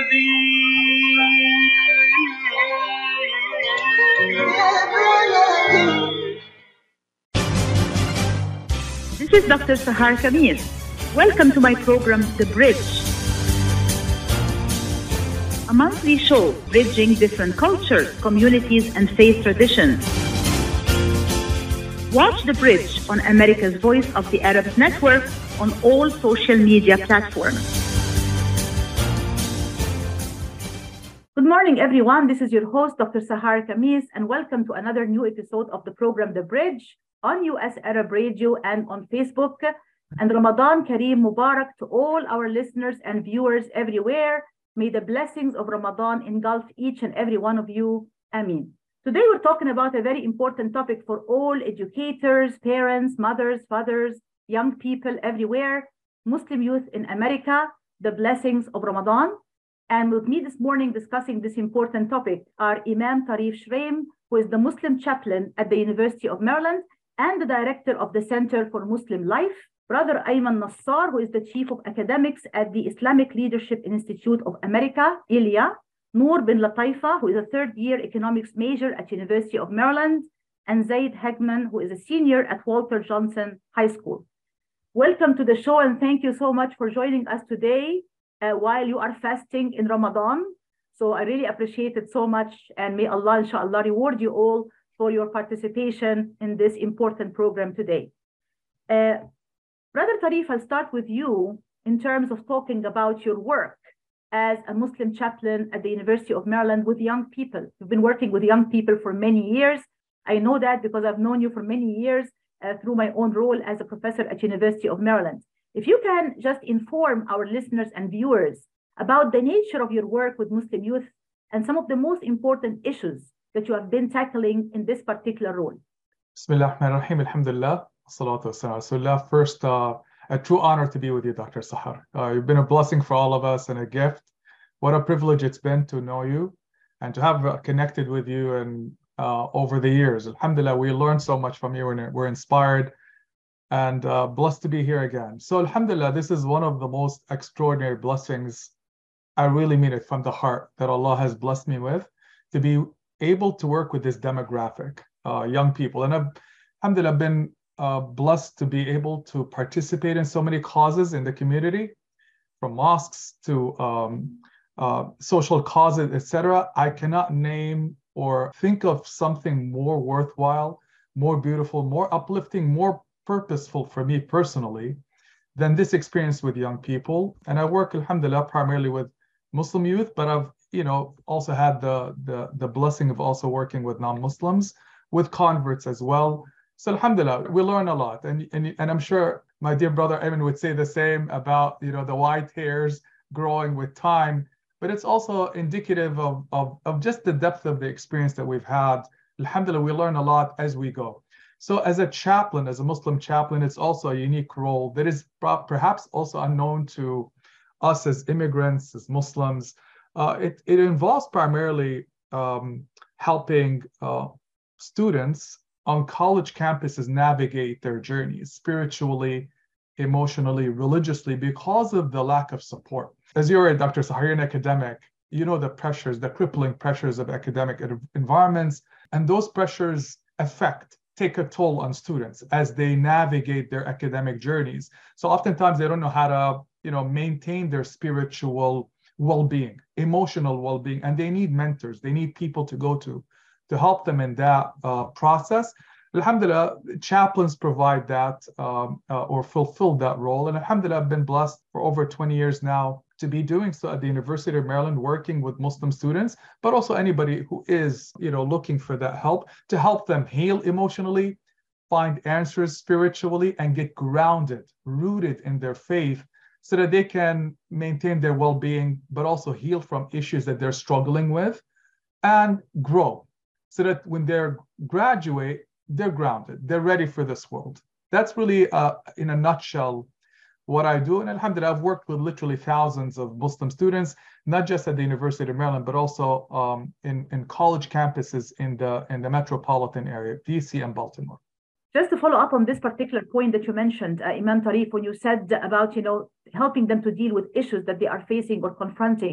This is Dr. Sahar Khamis. Welcome to my program, The Bridge, a monthly show bridging different cultures, communities, and faith traditions. Watch The Bridge on America's Voice of the Arabs Network on all social media platforms. Good morning, everyone. This is your host, Dr. Sahar Khamis, and welcome to another new episode of the program, The Bridge, on US Arab Radio and on Facebook. And Ramadan Kareem Mubarak to all our listeners and viewers everywhere. May the blessings of Ramadan engulf each and every one of you. Ameen. Today we're talking about a very important topic for all educators, parents, mothers, fathers, young people everywhere, Muslim youth in America, the blessings of Ramadan. And with me this morning discussing this important topic are Imam Tarif Shraim, who is the Muslim chaplain at the University of Maryland and the director of the Center for Muslim Life, Brother Ayman Nassar, who is the chief of academics at the Islamic Leadership Institute of America, ILIA, Noor bin Lataifa, who is a third-year economics major at University of Maryland, and Zaid Hegman, who is a senior at Walter Johnson High School. Welcome to the show, and thank you so much for joining us today while you are fasting in Ramadan. So I really appreciate it so much, and may Allah, inshallah, reward you all for your participation in this important program today. Brother Tarif, I'll start with you in terms of talking about your work as a Muslim chaplain at the University of Maryland with young people. You've been working with young people for many years. I know that because I've known you for many years through my own role as a professor at University of Maryland. If you can just inform our listeners and viewers about the nature of your work with Muslim youth and some of the most important issues that you have been tackling in this particular role. Bismillah ar-Rahman ar-Rahim, alhamdulillah, salatu wassalam rasulullah. First, a true honor to be with you, Dr. Sahar. You've been a blessing for all of us and a gift. What a privilege it's been to know you and to have connected with you and over the years. Alhamdulillah, we learned so much from you and we're inspired and blessed to be here again. So alhamdulillah, this is one of the most extraordinary blessings. I really mean it from the heart that Allah has blessed me with, to be able to work with this demographic, young people. And I've, alhamdulillah, been blessed to be able to participate in so many causes in the community, from mosques to social causes, etc. I cannot name or think of something more worthwhile, more beautiful, more uplifting, more purposeful for me personally than this experience with young people. And I work, alhamdulillah, primarily with Muslim youth, but I've also had the blessing of also working with non-Muslims, with converts as well. So alhamdulillah, we learn a lot. And I'm sure my dear brother Ayman would say the same about the white hairs growing with time, but it's also indicative of just the depth of the experience that we've had. Alhamdulillah, we learn a lot as we go. So as a chaplain, as a Muslim chaplain, it's also a unique role that is perhaps also unknown to us as immigrants, as Muslims. It involves primarily helping students on college campuses navigate their journeys spiritually, emotionally, religiously, because of the lack of support. As you're a Dr. Sahar, an academic, you know the pressures, the crippling pressures of academic environments, and those pressures take a toll on students as they navigate their academic journeys. So oftentimes they don't know how to, maintain their spiritual well-being, emotional well-being, and they need mentors. They need people to go to help them in that process. Alhamdulillah, chaplains provide that or fulfill that role. And alhamdulillah, I've been blessed for over 20 years now to be doing so at the University of Maryland, working with Muslim students, but also anybody who is, looking for that help, to help them heal emotionally, find answers spiritually, and get grounded, rooted in their faith, so that they can maintain their well-being, but also heal from issues that they're struggling with and grow, so that when they're graduate, they're grounded, they're ready for this world. That's really, in a nutshell, what I do. And alhamdulillah, I've worked with literally thousands of Muslim students, not just at the University of Maryland, but also in college campuses in the metropolitan area, DC and Baltimore. Just to follow up on this particular point that you mentioned, Imam Tarif, when you said about, helping them to deal with issues that they are facing or confronting,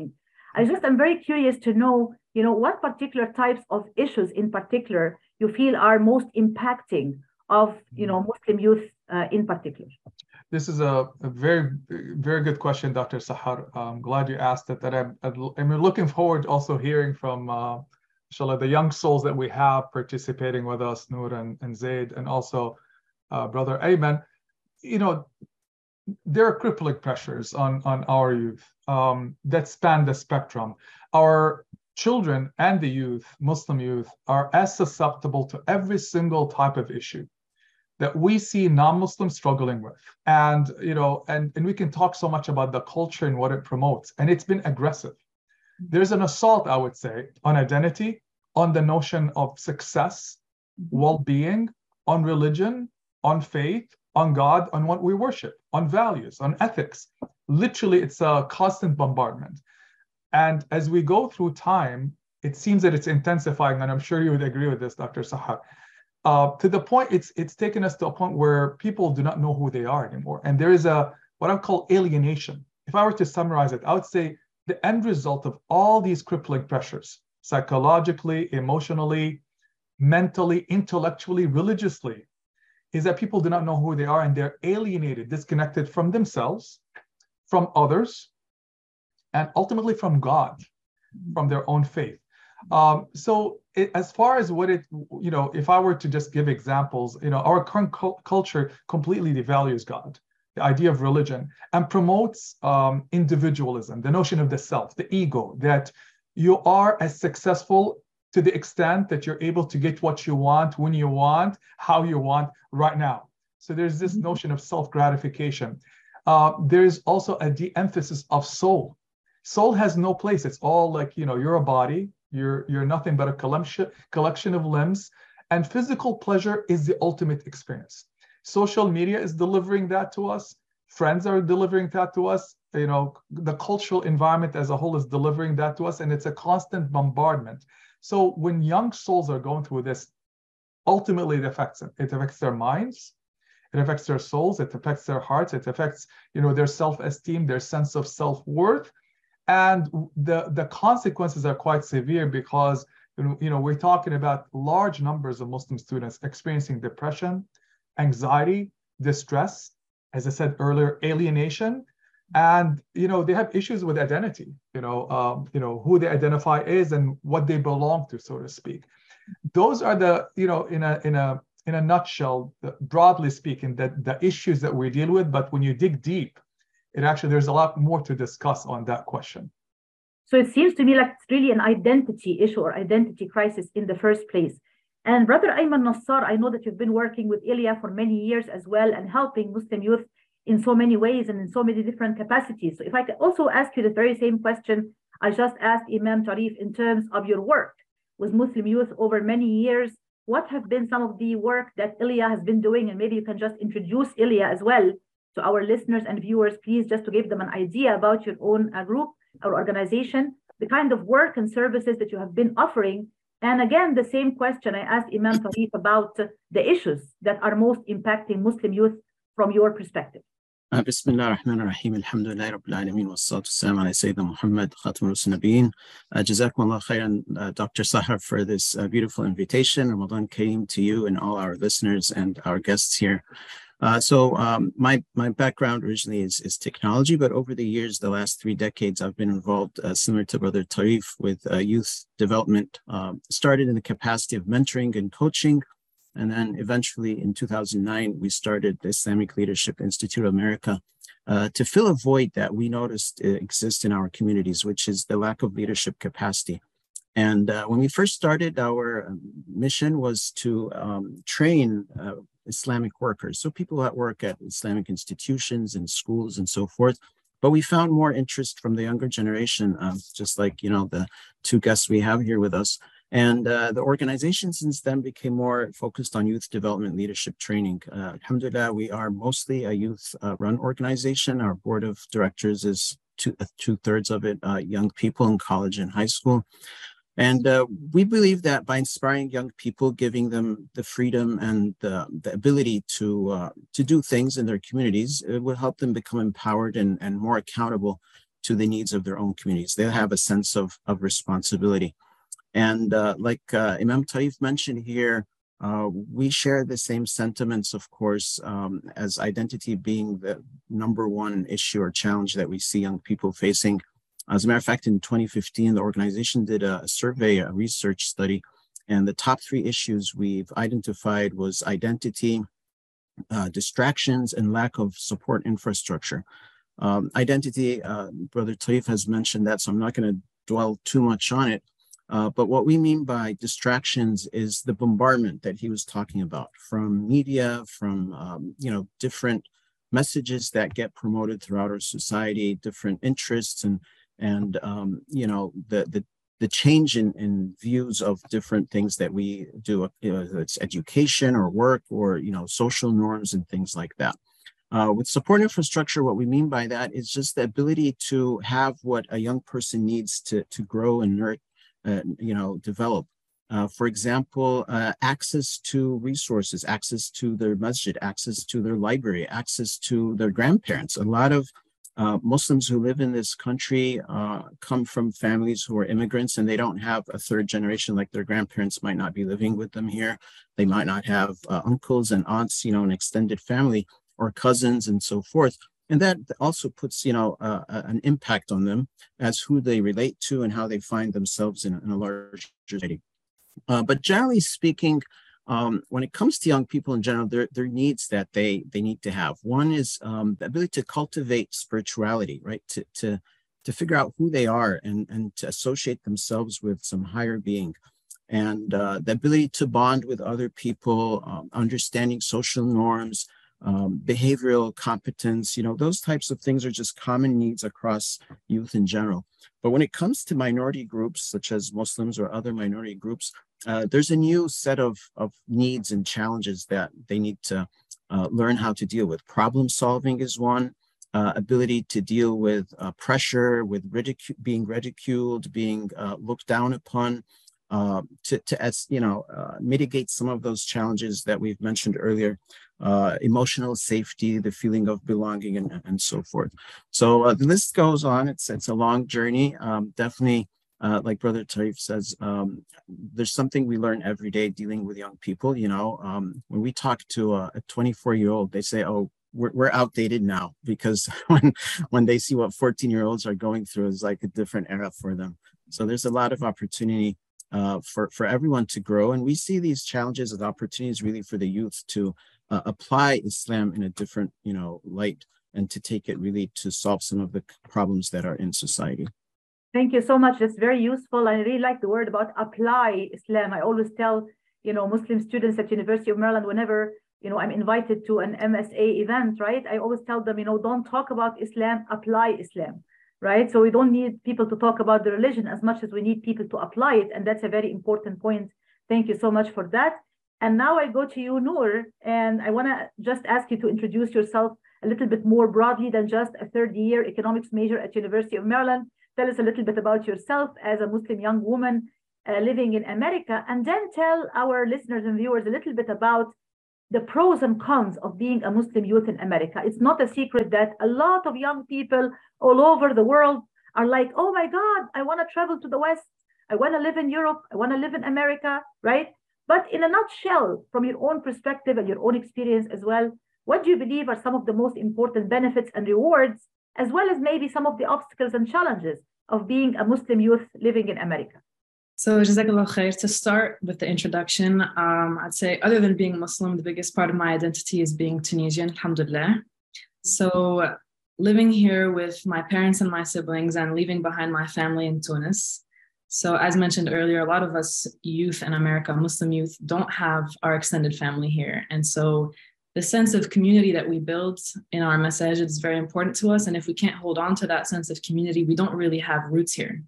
I just am very curious to know, what particular types of issues in particular you feel are most impacting of, Muslim youth in particular. This is a very, very good question, Dr. Sahar. I'm glad you asked it. That I'm looking forward also hearing from, inshallah, the young souls that we have participating with us, Noor and Zaid, and also Brother Ayman. There are crippling pressures on our youth that span the spectrum. Our children and the youth, Muslim youth, are as susceptible to every single type of issue that we see non-Muslims struggling with. And, and we can talk so much about the culture and what it promotes, and it's been aggressive. There's an assault, I would say, on identity, on the notion of success, well-being, on religion, on faith, on God, on what we worship, on values, on ethics. Literally, it's a constant bombardment. And as we go through time, it seems that it's intensifying, and I'm sure you would agree with this, Dr. Sahar. To the point, it's taken us to a point where people do not know who they are anymore. And there is what I call alienation. If I were to summarize it, I would say the end result of all these crippling pressures, psychologically, emotionally, mentally, intellectually, religiously, is that people do not know who they are, and they're alienated, disconnected from themselves, from others, and ultimately from God, from their own faith. As far as what if I were to just give examples, our current culture completely devalues God, the idea of religion, and promotes individualism, the notion of the self, the ego, that you are as successful to the extent that you're able to get what you want, when you want, how you want, right now. So there's this notion of self-gratification. There's also a de-emphasis of soul. Soul has no place. It's all like, you're a body, you're nothing but a collection of limbs, and physical pleasure is the ultimate experience. Social media is delivering that to us. Friends are delivering that to us. The cultural environment as a whole is delivering that to us, and it's a constant bombardment. So when young souls are going through this, ultimately it affects them. It affects their minds, it affects their souls, it affects their hearts, it affects, their self-esteem, their sense of self-worth. And the consequences are quite severe because, we're talking about large numbers of Muslim students experiencing depression, anxiety, distress, as I said earlier, alienation. And, they have issues with identity, who they identify as and what they belong to, so to speak. Those are the, in a nutshell, broadly speaking, the issues that we deal with. But when you dig deep, there's a lot more to discuss on that question. So it seems to me like it's really an identity issue or identity crisis in the first place. And Brother Ayman Nassar, I know that you've been working with Ilya for many years as well and helping Muslim youth in so many ways and in so many different capacities. So if I could also ask you the very same question I just asked Imam Tarif in terms of your work with Muslim youth over many years, what have been some of the work that Ilya has been doing? And maybe you can just introduce Ilya as well to our listeners and viewers, please, just to give them an idea about your own group or organization, the kind of work and services that you have been offering. And again, the same question I asked Imam Tarif about the issues that are most impacting Muslim youth from your perspective. Bismillah ar-Rahman ar-Rahim, alhamdulillah rabbil alameen, wa salatu wassalam ala Sayyidina Muhammad, Khatam al-Rusul Nabiyyin. Jazakumullah khairan, Dr. Sahar, for this beautiful invitation. Ramadan Kareem to you and all our listeners and our guests here. My background originally is technology, but over the years, the last 3 decades, I've been involved, similar to Brother Tarif, with youth development. Started in the capacity of mentoring and coaching, and then eventually in 2009, we started the Islamic Leadership Institute of America to fill a void that we noticed exists in our communities, which is the lack of leadership capacity. And when we first started, our mission was to train Islamic workers, so people that work at Islamic institutions and schools and so forth. But we found more interest from the younger generation, just like, the 2 guests we have here with us. And the organization since then became more focused on youth development leadership training. Alhamdulillah, we are mostly a youth-run organization. Our board of directors is 2/3 of it young people in college and high school. And we believe that by inspiring young people, giving them the freedom and the ability to do things in their communities, it will help them become empowered and more accountable to the needs of their own communities. They'll have a sense of responsibility. And like Imam Taif mentioned here, we share the same sentiments, of course, as identity being the number one issue or challenge that we see young people facing. As a matter of fact, in 2015, the organization did a survey, a research study, and the top 3 issues we've identified was identity, distractions, and lack of support infrastructure. Identity, Brother Taif has mentioned that, so I'm not going to dwell too much on it. But what we mean by distractions is the bombardment that he was talking about from media, from different messages that get promoted throughout our society, different interests, and the change in views of different things that we do. It's education or work or social norms and things like that. With support infrastructure, what we mean by that is just the ability to have what a young person needs to grow and develop. For example, access to resources, access to their masjid, access to their library, access to their grandparents. A lot of Muslims who live in this country come from families who are immigrants, and they don't have a 3rd generation, like their grandparents might not be living with them here. They might not have uncles and aunts, an extended family or cousins and so forth. And that also puts, an impact on them as who they relate to and how they find themselves in a larger society. But generally speaking, when it comes to young people in general, there are needs that they need to have. One is the ability to cultivate spirituality, right? To figure out who they are and to associate themselves with some higher being. And the ability to bond with other people, understanding social norms, behavioral competence, those types of things are just common needs across youth in general. But when it comes to minority groups, such as Muslims or other minority groups, there's a new set of needs and challenges that they need to learn how to deal with. Problem solving is one, ability to deal with pressure, with being ridiculed, being looked down upon, to mitigate some of those challenges that we've mentioned earlier, emotional safety, the feeling of belonging, and so forth. So the list goes on. It's a long journey. Definitely, like Brother Taif says, there's something we learn every day dealing with young people. When we talk to a 24-year-old, they say, "Oh, we're outdated now," because when they see what 14-year-olds are going through, is like a different era for them. So there's a lot of opportunity for everyone to grow. And we see these challenges as opportunities really for the youth to apply Islam in a different, light, and to take it really to solve some of the problems that are in society. Thank you so much. That's very useful. I really like the word about apply Islam. I always tell, Muslim students at University of Maryland, whenever, I'm invited to an MSA event, right? I always tell them, don't talk about Islam, apply Islam. Right? So we don't need people to talk about the religion as much as we need people to apply it. And that's a very important point. Thank you so much for that. And now I go to you, Noor, and I want to just ask you to introduce yourself a little bit more broadly than just a 3rd-year economics major at University of Maryland. Tell us a little bit about yourself as a Muslim young woman living in America, and then tell our listeners and viewers a little bit about the pros and cons of being a Muslim youth in America. It's not a secret that a lot of young people all over the world are like, oh my God, I want to travel to the West. I want to live in Europe. I want to live in America, right? But in a nutshell, from your own perspective and your own experience as well, what do you believe are some of the most important benefits and rewards, as well as maybe some of the obstacles and challenges of being a Muslim youth living in America? So, Jazakallah khair. To start with the introduction, I'd say other than being Muslim, the biggest part of my identity is being Tunisian, alhamdulillah. So living here with my parents and my siblings and leaving behind my family in Tunis. So as mentioned earlier, a lot of us youth in America, Muslim youth, don't have our extended family here. And so the sense of community that we build in our masajid is very important to us. And if we can't hold on to that sense of community, we don't really have roots here.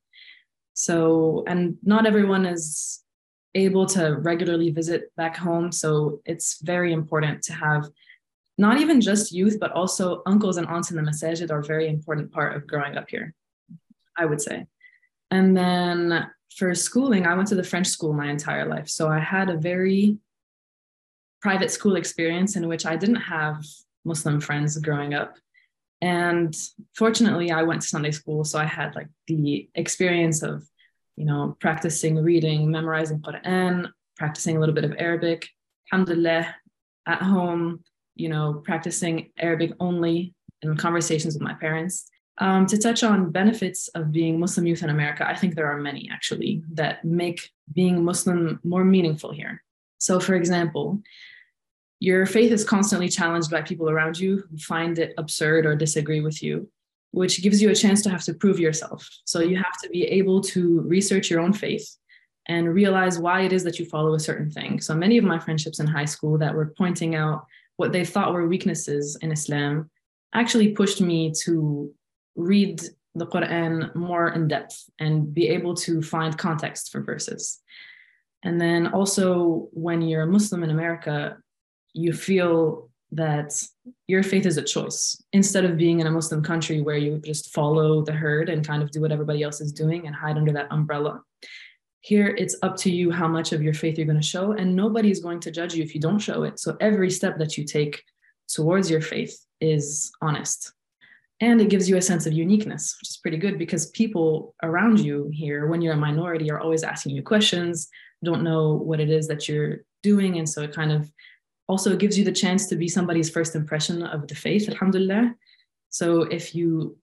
So, and not everyone is able to regularly visit back home. So it's very important to have not even just youth, but also uncles and aunts in the masajid are a very important part of growing up here, I would say. And then for schooling, I went to the French school my entire life. So I had a very private school experience in which I didn't have Muslim friends growing up. And fortunately, I went to Sunday school, so I had like the experience of, practicing reading, memorizing Quran, practicing a little bit of Arabic, alhamdulillah, at home, practicing Arabic only in conversations with my parents. To touch on benefits of being Muslim youth in America, I think there are many actually that make being Muslim more meaningful here. So for example, your faith is constantly challenged by people around you who find it absurd or disagree with you, which gives you a chance to have to prove yourself. So you have to be able to research your own faith and realize why it is that you follow a certain thing. So many of my friendships in high school that were pointing out what they thought were weaknesses in Islam actually pushed me to read the Quran more in depth and be able to find context for verses. And then also when you're a Muslim in America, you feel that your faith is a choice instead of being in a Muslim country where you just follow the herd and kind of do what everybody else is doing and hide under that umbrella. Here, it's up to you how much of your faith you're going to show, and nobody is going to judge you if you don't show it. So every step that you take towards your faith is honest. And it gives you a sense of uniqueness, which is pretty good because people around you here, when you're a minority, are always asking you questions, don't know what it is that you're doing. And so it kind of also gives you the chance to be somebody's first impression of the faith, alhamdulillah. So if you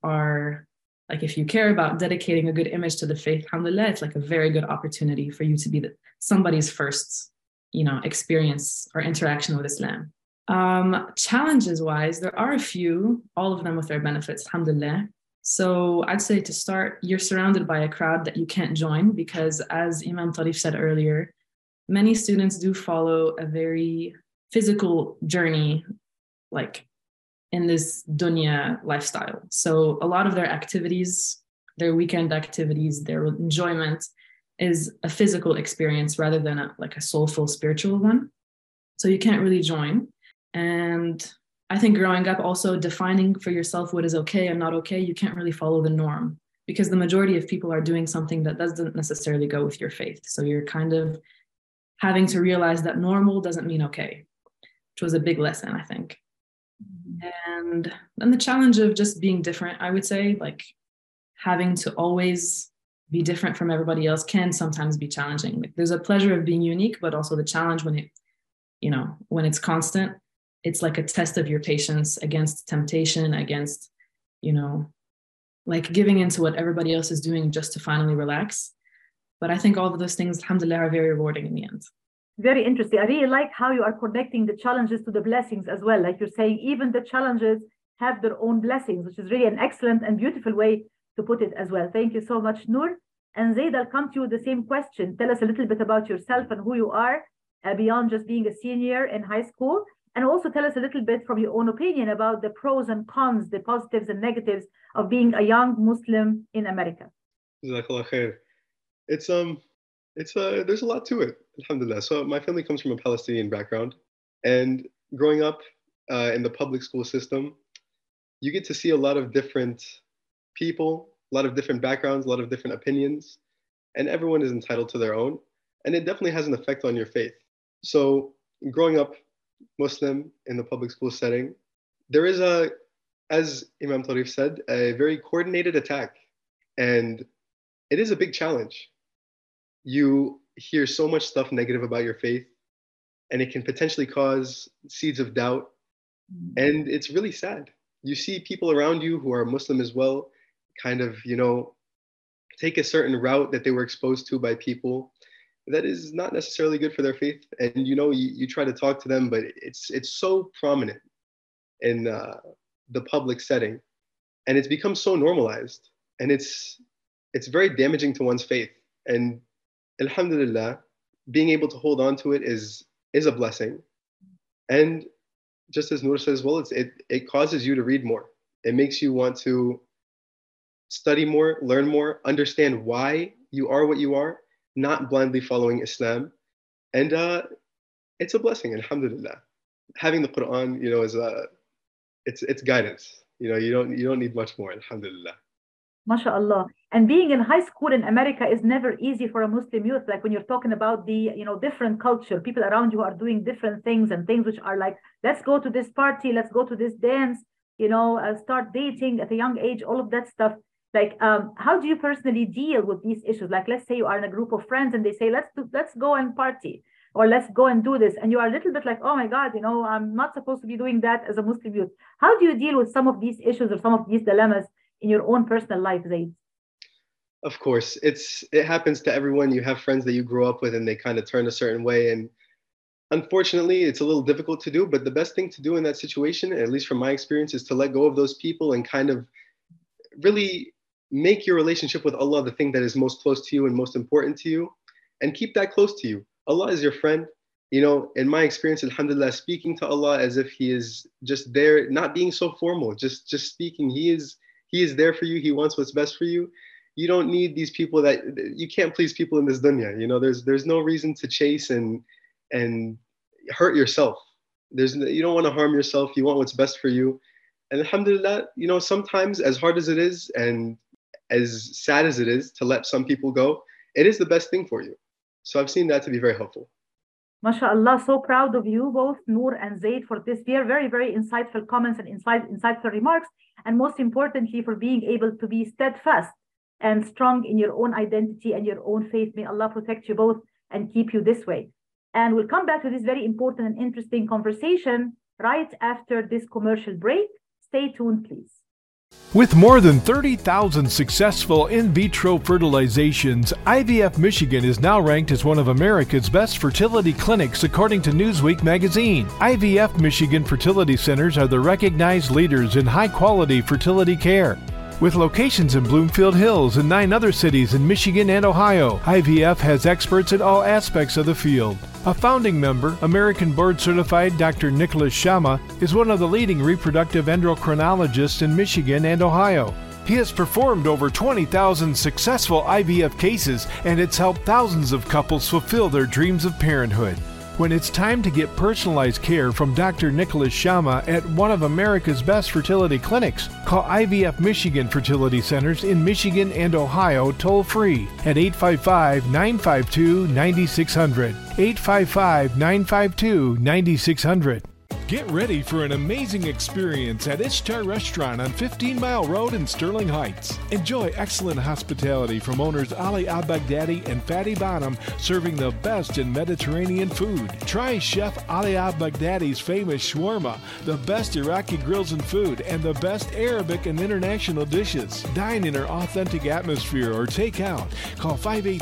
care about dedicating a good image to the faith, alhamdulillah, it's like a very good opportunity for you to be somebody's first, experience or interaction with Islam. Challenges wise, there are a few, all of them with their benefits, alhamdulillah. So I'd say to start, you're surrounded by a crowd that you can't join because, as Imam Tarif said earlier, many students do follow a very physical journey, like in this dunya lifestyle. So a lot of their activities, their weekend activities, their enjoyment is a physical experience rather than a soulful spiritual one. So you can't really join. And I think growing up also defining for yourself what is okay and not okay, you can't really follow the norm because the majority of people are doing something that doesn't necessarily go with your faith. So you're kind of having to realize that normal doesn't mean okay, which was a big lesson, I think. And then the challenge of just being different, I would say, like having to always be different from everybody else can sometimes be challenging. Like there's a pleasure of being unique, but also the challenge when it's constant, it's like a test of your patience against temptation, against, like giving into what everybody else is doing just to finally relax. But I think all of those things, alhamdulillah, are very rewarding in the end. Very interesting. I really like how you are connecting the challenges to the blessings as well. Like you're saying, even the challenges have their own blessings, which is really an excellent and beautiful way to put it as well. Thank you so much, Noor. And Zaid, I'll come to you with the same question. Tell us a little bit about yourself and who you are beyond just being a senior in high school. And also tell us a little bit from your own opinion about the pros and cons, the positives and negatives of being a young Muslim in America. Jazakallah khair. There's a lot to it, alhamdulillah. So my family comes from a Palestinian background, and growing up in the public school system, you get to see a lot of different people, a lot of different backgrounds, a lot of different opinions, and everyone is entitled to their own. And it definitely has an effect on your faith. So growing up Muslim in the public school setting, there is as Imam Tarif said, a very coordinated attack. And it is a big challenge. You hear so much stuff negative about your faith, and it can potentially cause seeds of doubt. And it's really sad. You see people around you who are Muslim as well, kind of, take a certain route that they were exposed to by people that is not necessarily good for their faith. And, you try to talk to them, but it's so prominent in the public setting, and it's become so normalized, and it's very damaging to one's faith. And alhamdulillah, being able to hold on to it is a blessing. And just as Noor says, well, it causes you to read more. It makes you want to study more, learn more, understand why you are what you are, not blindly following Islam. And it's a blessing, alhamdulillah. Having the Quran, is it's guidance. You don't need much more, alhamdulillah. MashaAllah. And being in high school in America is never easy for a Muslim youth. Like when you're talking about the, different culture, people around you are doing different things and things which are like, let's go to this party, let's go to this dance. start dating at a young age, all of that stuff. Like, how do you personally deal with these issues? Like, let's say you are in a group of friends and they say, let's go and party, or let's go and do this. And you are a little bit like, oh my God, I'm not supposed to be doing that as a Muslim youth. How do you deal with some of these issues or some of these dilemmas in your own personal life, Zaid? Of course, it happens to everyone. You have friends that you grew up with and they kind of turn a certain way. And unfortunately, it's a little difficult to do, but the best thing to do in that situation, at least from my experience, is to let go of those people and kind of really make your relationship with Allah the thing that is most close to you and most important to you, and keep that close to you. Allah is your friend. In my experience, alhamdulillah, speaking to Allah as if He is just there, not being so formal, just speaking. He is there for you. He wants what's best for you. You don't need these people that you can't please people in this dunya. There's no reason to chase and hurt yourself. You don't want to harm yourself. You want what's best for you. And alhamdulillah, sometimes as hard as it is and as sad as it is to let some people go, it is the best thing for you. So I've seen that to be very helpful. MashaAllah, so proud of you both, Noor and Zaid, for this very, very insightful comments and insightful remarks. And most importantly, for being able to be steadfast and strong in your own identity and your own faith. May Allah protect you both and keep you this way. And we'll come back to this very important and interesting conversation right after this commercial break. Stay tuned, please. With more than 30,000 successful in vitro fertilizations, IVF Michigan is now ranked as one of America's best fertility clinics according to Newsweek magazine. IVF Michigan fertility centers are the recognized leaders in high-quality fertility care. With locations in Bloomfield Hills and 9 other cities in Michigan and Ohio, IVF has experts in all aspects of the field. A founding member, American board-certified Dr. Nicholas Shama, is one of the leading reproductive endocrinologists in Michigan and Ohio. He has performed over 20,000 successful IVF cases, and it's helped thousands of couples fulfill their dreams of parenthood. When it's time to get personalized care from Dr. Nicholas Shama at one of America's best fertility clinics, call IVF Michigan Fertility Centers in Michigan and Ohio toll-free at 855-952-9600. 855-952-9600. Get ready for an amazing experience at Ishtar Restaurant on 15 Mile Road in Sterling Heights. Enjoy excellent hospitality from owners Ali Al-Baghdadi and Fatty Bonham, serving the best in Mediterranean food. Try Chef Ali Al-Baghdadi's famous shawarma, the best Iraqi grills and food, and the best Arabic and international dishes. Dine in our authentic atmosphere or take out. Call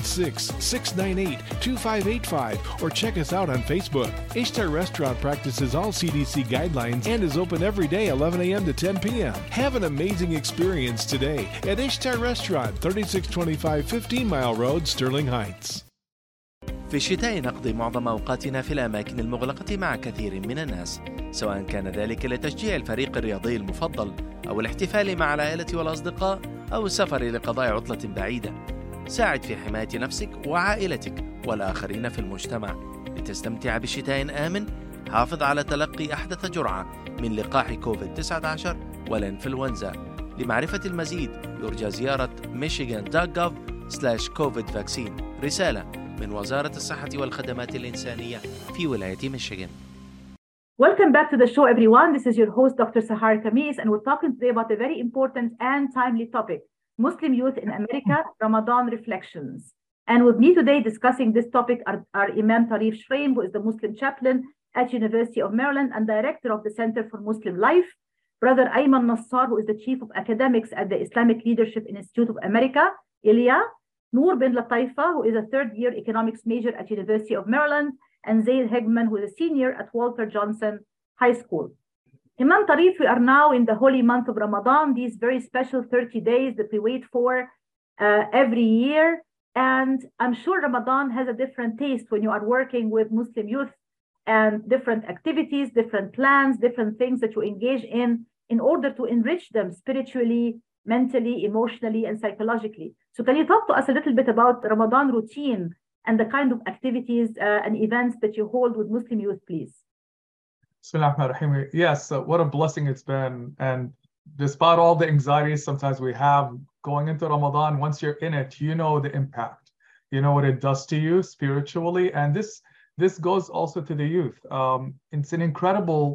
586-698-2585 or check us out on Facebook. Ishtar Restaurant practices all CDC guidelines and is open every day 11 a.m. to 10 p.m. Have an amazing experience today at Ishtar Restaurant, 3625 15 Mile Road, Sterling Heights. في الشتاء نقضي معظم أوقاتنا في الأماكن المغلقة مع كثير من الناس، سواء كان ذلك لتشجيع الفريق الرياضي المفضل أو الاحتفال مع العائلة والأصدقاء أو السفر لقضاء عطلة بعيدة. ساعد في حماية نفسك وعائلتك والآخرين في المجتمع لتستمتع بشتاء آمن. حافظ على تلقي أحدث جرعة من لقاح كوفيد-19 والإنفلونزا. لمعرفة المزيد يرجى زيارة michigan.gov/covid-vaccine. رسالة من وزارة الصحة والخدمات الإنسانية في ولاية ميشيغان. Welcome back to the show, everyone. This is your host, Dr. Sahar Khamis, and we're talking today about a very important and timely topic, Muslim youth in America, Ramadan reflections. And with me today discussing this topic are Imam Tarif Shraim, who is the Muslim chaplain at University of Maryland and director of the Center for Muslim Life, Brother Ayman Nassar, who is the chief of academics at the Islamic Leadership Institute of America, ILIA, Noor bin Lataifa, who is a third-year economics major at University of Maryland, and Zaid Hegman, who is a senior at Walter Johnson High School. Imam Tarif, we are now in the holy month of Ramadan, these very special 30 days that we wait for every year. And I'm sure Ramadan has a different taste when you are working with Muslim youth and different activities, different plans, different things that you engage in order to enrich them spiritually, mentally, emotionally, and psychologically. So can you talk to us a little bit about Ramadan routine and the kind of activities and events that you hold with Muslim youth, please? Bismillahirrahmanirrahim. Yes, what a blessing it's been. And despite all the anxieties sometimes we have going into Ramadan, once you're in it, you know the impact. You know what it does to you spiritually. And this goes also to the youth. It's an incredible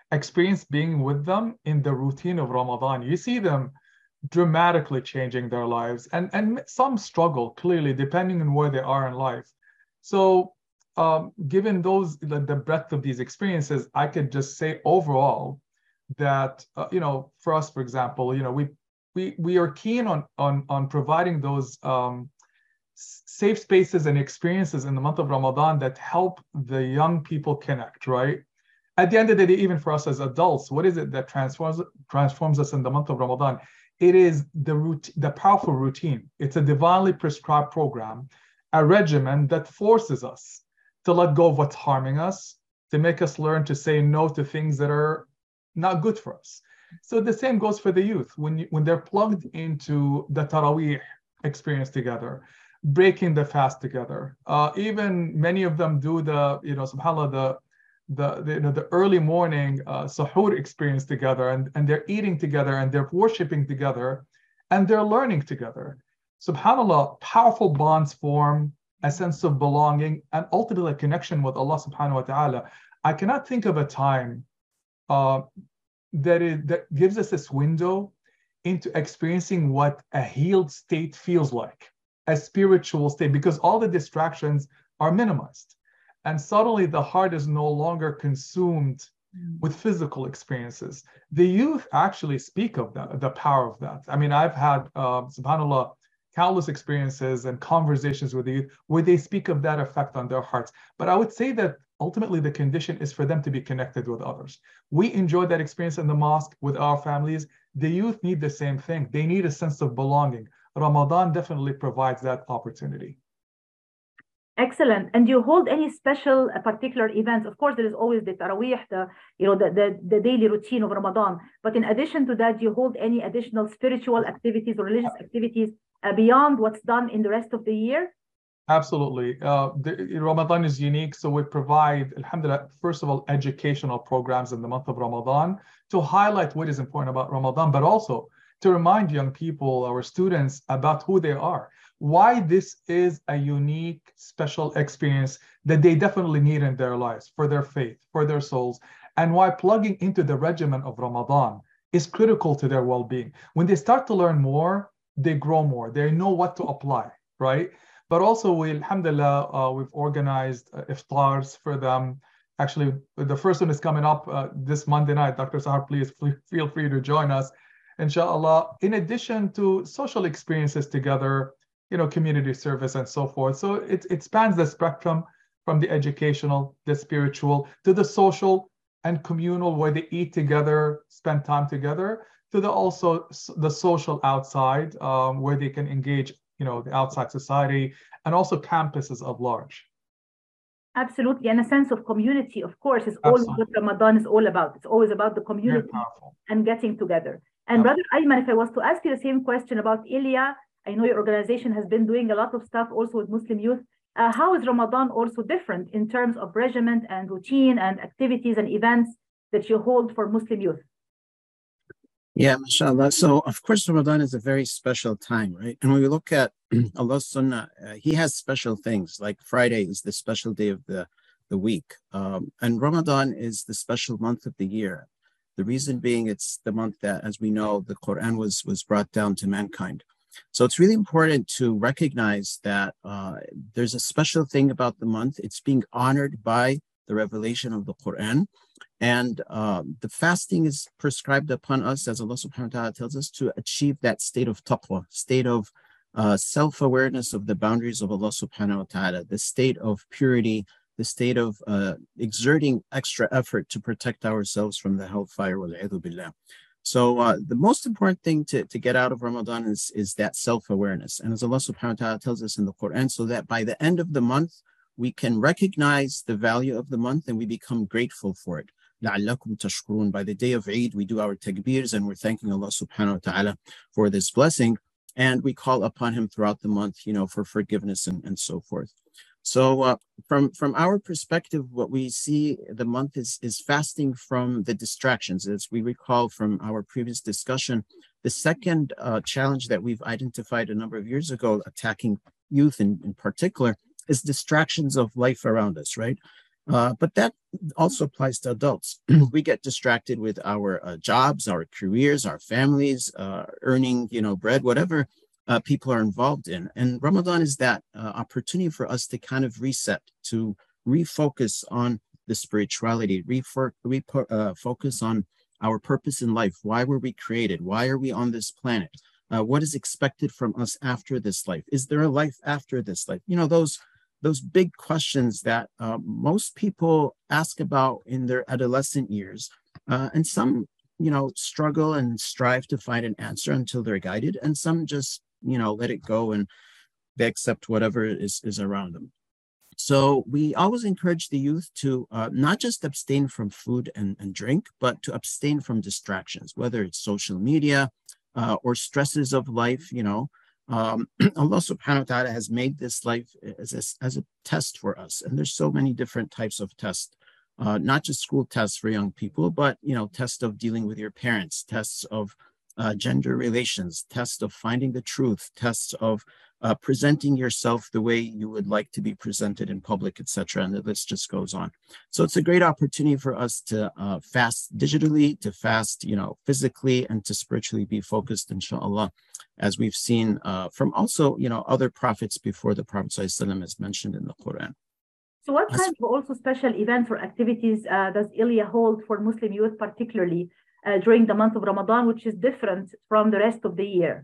experience being with them in the routine of Ramadan. You see them dramatically changing their lives, and some struggle clearly depending on where they are in life. So given the breadth of these experiences, I could just say overall that for us, for example, we are keen on providing those safe spaces and experiences in the month of Ramadan that help the young people connect, right? At the end of the day, even for us as adults, what is it that transforms us in the month of Ramadan? It is the powerful routine. It's a divinely prescribed program, a regimen that forces us to let go of what's harming us, to make us learn to say no to things that are not good for us. So the same goes for the youth. When they're plugged into the Taraweeh experience together, breaking the fast together, even many of them do subhanAllah, the early morning suhoor experience together, and they're eating together, and they're worshiping together, and they're learning together. SubhanAllah, powerful bonds form, a sense of belonging, and ultimately a connection with Allah subhanahu wa ta'ala. I cannot think of a time that gives us this window into experiencing what a healed state feels like, a spiritual state, because all the distractions are minimized. And suddenly the heart is no longer consumed with physical experiences. The youth actually speak of that, the power of that. I mean, I've had, subhanAllah, countless experiences and conversations with the youth where they speak of that effect on their hearts. But I would say that ultimately the condition is for them to be connected with others. We enjoy that experience in the mosque with our families. The youth need the same thing. They need a sense of belonging. Ramadan definitely provides that opportunity. Excellent. And do you hold any special particular events? Of course, there is always the Taraweeh, the daily routine of Ramadan. But in addition to that, do you hold any additional spiritual activities or religious activities beyond what's done in the rest of the year? Absolutely. Ramadan is unique. So we provide, alhamdulillah, first of all, educational programs in the month of Ramadan to highlight what is important about Ramadan, but also to remind young people, our students, about who they are, why this is a unique, special experience that they definitely need in their lives, for their faith, for their souls, and why plugging into the regimen of Ramadan is critical to their well-being. When they start to learn more, they grow more. They know what to apply, right? But also, alhamdulillah, we've organized iftars for them. Actually, the first one is coming up this Monday night. Dr. Sahar, please feel free to join us, inshallah. In addition to social experiences together, community service and so forth. So it spans the spectrum from the educational, the spiritual, to the social and communal, where they eat together, spend time together, to the social outside, where they can engage the outside society, and also campuses at large. Absolutely. And a sense of community, of course, is always what Ramadan is all about. It's always about the community and getting together. And Brother Ayman, if I was to ask you the same question about Ilya, I know your organization has been doing a lot of stuff also with Muslim youth. How is Ramadan also different in terms of regimen and routine and activities and events that you hold for Muslim youth? Yeah, mashallah. So, of course, Ramadan is a very special time, right? And when we look at Allah's Sunnah, He has special things, like Friday is the special day of the week. And Ramadan is the special month of the year. The reason being, it's the month that, as we know, the Quran was brought down to mankind. So it's really important to recognize that there's a special thing about the month. It's being honored by the revelation of the Quran. And the fasting is prescribed upon us, as Allah subhanahu wa ta'ala tells us, to achieve that state of taqwa, state of self-awareness of the boundaries of Allah subhanahu wa ta'ala, the state of purity, the state of exerting extra effort to protect ourselves from the hellfire, wal-'iyadhu billah. So the most important thing to get out of Ramadan is that self-awareness. And as Allah subhanahu wa ta'ala tells us in the Quran, so that by the end of the month, we can recognize the value of the month and we become grateful for it. لَعَلَّكُمْ تَشْكُرُونَ. By the day of Eid, we do our takbirs and we're thanking Allah subhanahu wa ta'ala for this blessing. And we call upon Him throughout the month, for forgiveness and so forth. So from our perspective, what we see the month is fasting from the distractions. As we recall from our previous discussion, the second challenge that we've identified a number of years ago, attacking youth in particular, is distractions of life around us, right? But that also applies to adults. We get distracted with our jobs, our careers, our families, earning, bread, whatever people are involved in. And Ramadan is that opportunity for us to kind of reset, to refocus on the spirituality, focus on our purpose in life. Why were we created? Why are we on this planet? What is expected from us after this life? Is there a life after this life? Those big questions that most people ask about in their adolescent years. And some, struggle and strive to find an answer until they're guided. And some just, let it go and they accept whatever is around them. So we always encourage the youth to not just abstain from food and drink, but to abstain from distractions, whether it's social media or stresses of life. Allah subhanahu wa ta'ala has made this life as a test for us. And there's so many different types of tests, not just school tests for young people, but, tests of dealing with your parents, tests of gender relations, tests of finding the truth, tests of presenting yourself the way you would like to be presented in public, etc. And the list just goes on. So it's a great opportunity for us to fast digitally, to fast, physically, and to spiritually be focused, inshallah, as we've seen from also, other prophets before the Prophet ﷺ is mentioned in the Quran. So what kind of also special events or activities does Ilya hold for Muslim youth, particularly during the month of Ramadan, which is different from the rest of the year?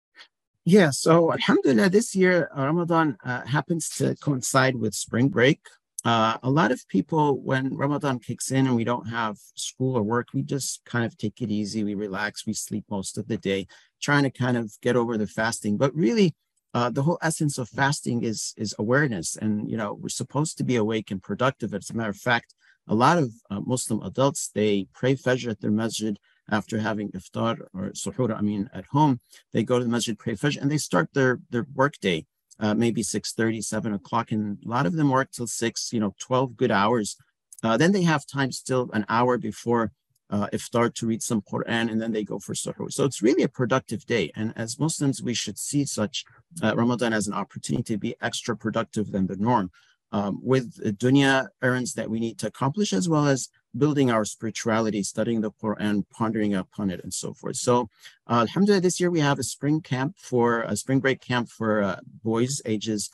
Yeah, so alhamdulillah, this year Ramadan happens to coincide with spring break. A lot of people, when Ramadan kicks in and we don't have school or work, we just kind of take it easy, we relax, we sleep most of the day, trying to kind of get over the fasting. But really, the whole essence of fasting is awareness. And, we're supposed to be awake and productive. As a matter of fact, a lot of Muslim adults, they pray Fajr at their masjid after having iftar or suhoor, at home. They go to the masjid, pray Fajr, and they start their work day, maybe 6:30, 7 o'clock. And a lot of them work till 6, 12 good hours. Then they have time still an hour before iftar to read some Quran, and then they go for suhoor. So it's really a productive day. And as Muslims, we should see such Ramadan as an opportunity to be extra productive than the norm, with dunya errands that we need to accomplish, as well as building our spirituality, studying the Quran, pondering upon it, and so forth. So alhamdulillah, this year we have a spring break camp for boys ages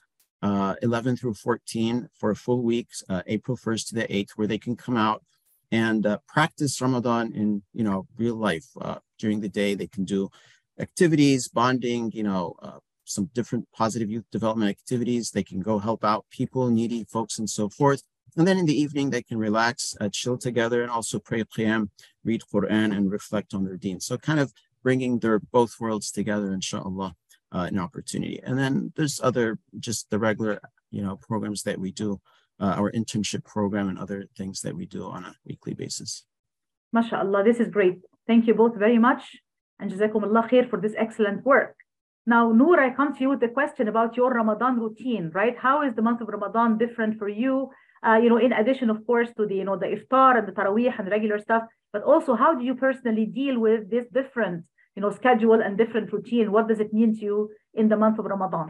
11 through 14 for a full week, April 1st to the 8th, where they can come out and practice Ramadan in, real life. During the day, they can do activities, bonding, some different positive youth development activities. They can go help out people, needy folks, and so forth. And then in the evening, they can relax, chill together, and also pray Qiyam, read Quran, and reflect on their deen. So kind of bringing their both worlds together, inshallah, an opportunity. And then there's just the regular, programs that we do, our internship program and other things that we do on a weekly basis. MashaAllah, this is great. Thank you both very much. And Jazakumullah khair for this excellent work. Now, Noor, I come to you with a question about your Ramadan routine, right? How is the month of Ramadan different for you? In addition, of course, to the, the iftar and the taraweeh and regular stuff, but also how do you personally deal with this different, schedule and different routine? What does it mean to you in the month of Ramadan?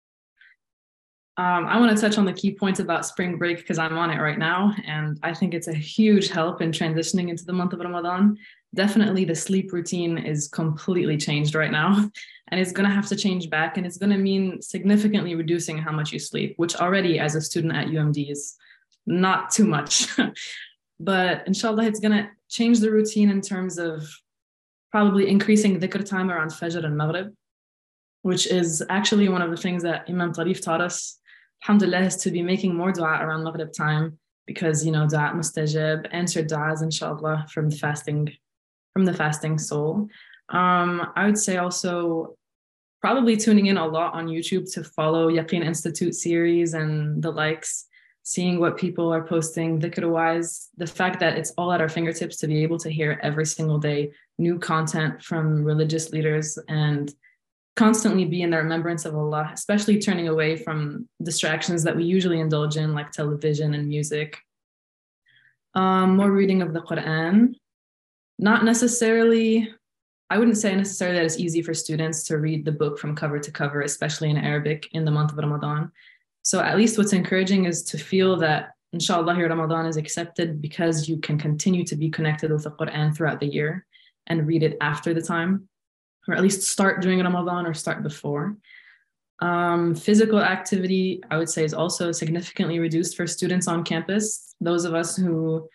I want to touch on the key points about spring break because I'm on it right now. And I think it's a huge help in transitioning into the month of Ramadan. Definitely the sleep routine is completely changed right now. And it's going to have to change back. And it's going to mean significantly reducing how much you sleep, which already as a student at UMD is not too much. But inshallah, it's going to change the routine in terms of probably increasing dhikr time around Fajr and Maghrib, which is actually one of the things that Imam Tarif taught us, alhamdulillah, is to be making more dua around Maghrib time because, dua mustajab, answered du'as, inshallah, from the fasting soul. I would say also probably tuning in a lot on YouTube to follow Yaqeen Institute series and the likes, seeing what people are posting dhikr-wise, the fact that it's all at our fingertips to be able to hear every single day new content from religious leaders and constantly be in the remembrance of Allah, especially turning away from distractions that we usually indulge in, like television and music. More reading of the Quran. Not necessarily, I wouldn't say necessarily that it's easy for students to read the book from cover to cover, especially in Arabic in the month of Ramadan. So at least what's encouraging is to feel that inshallah, your Ramadan is accepted because you can continue to be connected with the Quran throughout the year and read it after the time, or at least start during Ramadan or start before. Physical activity, I would say, is also significantly reduced for students on campus. Those of us who,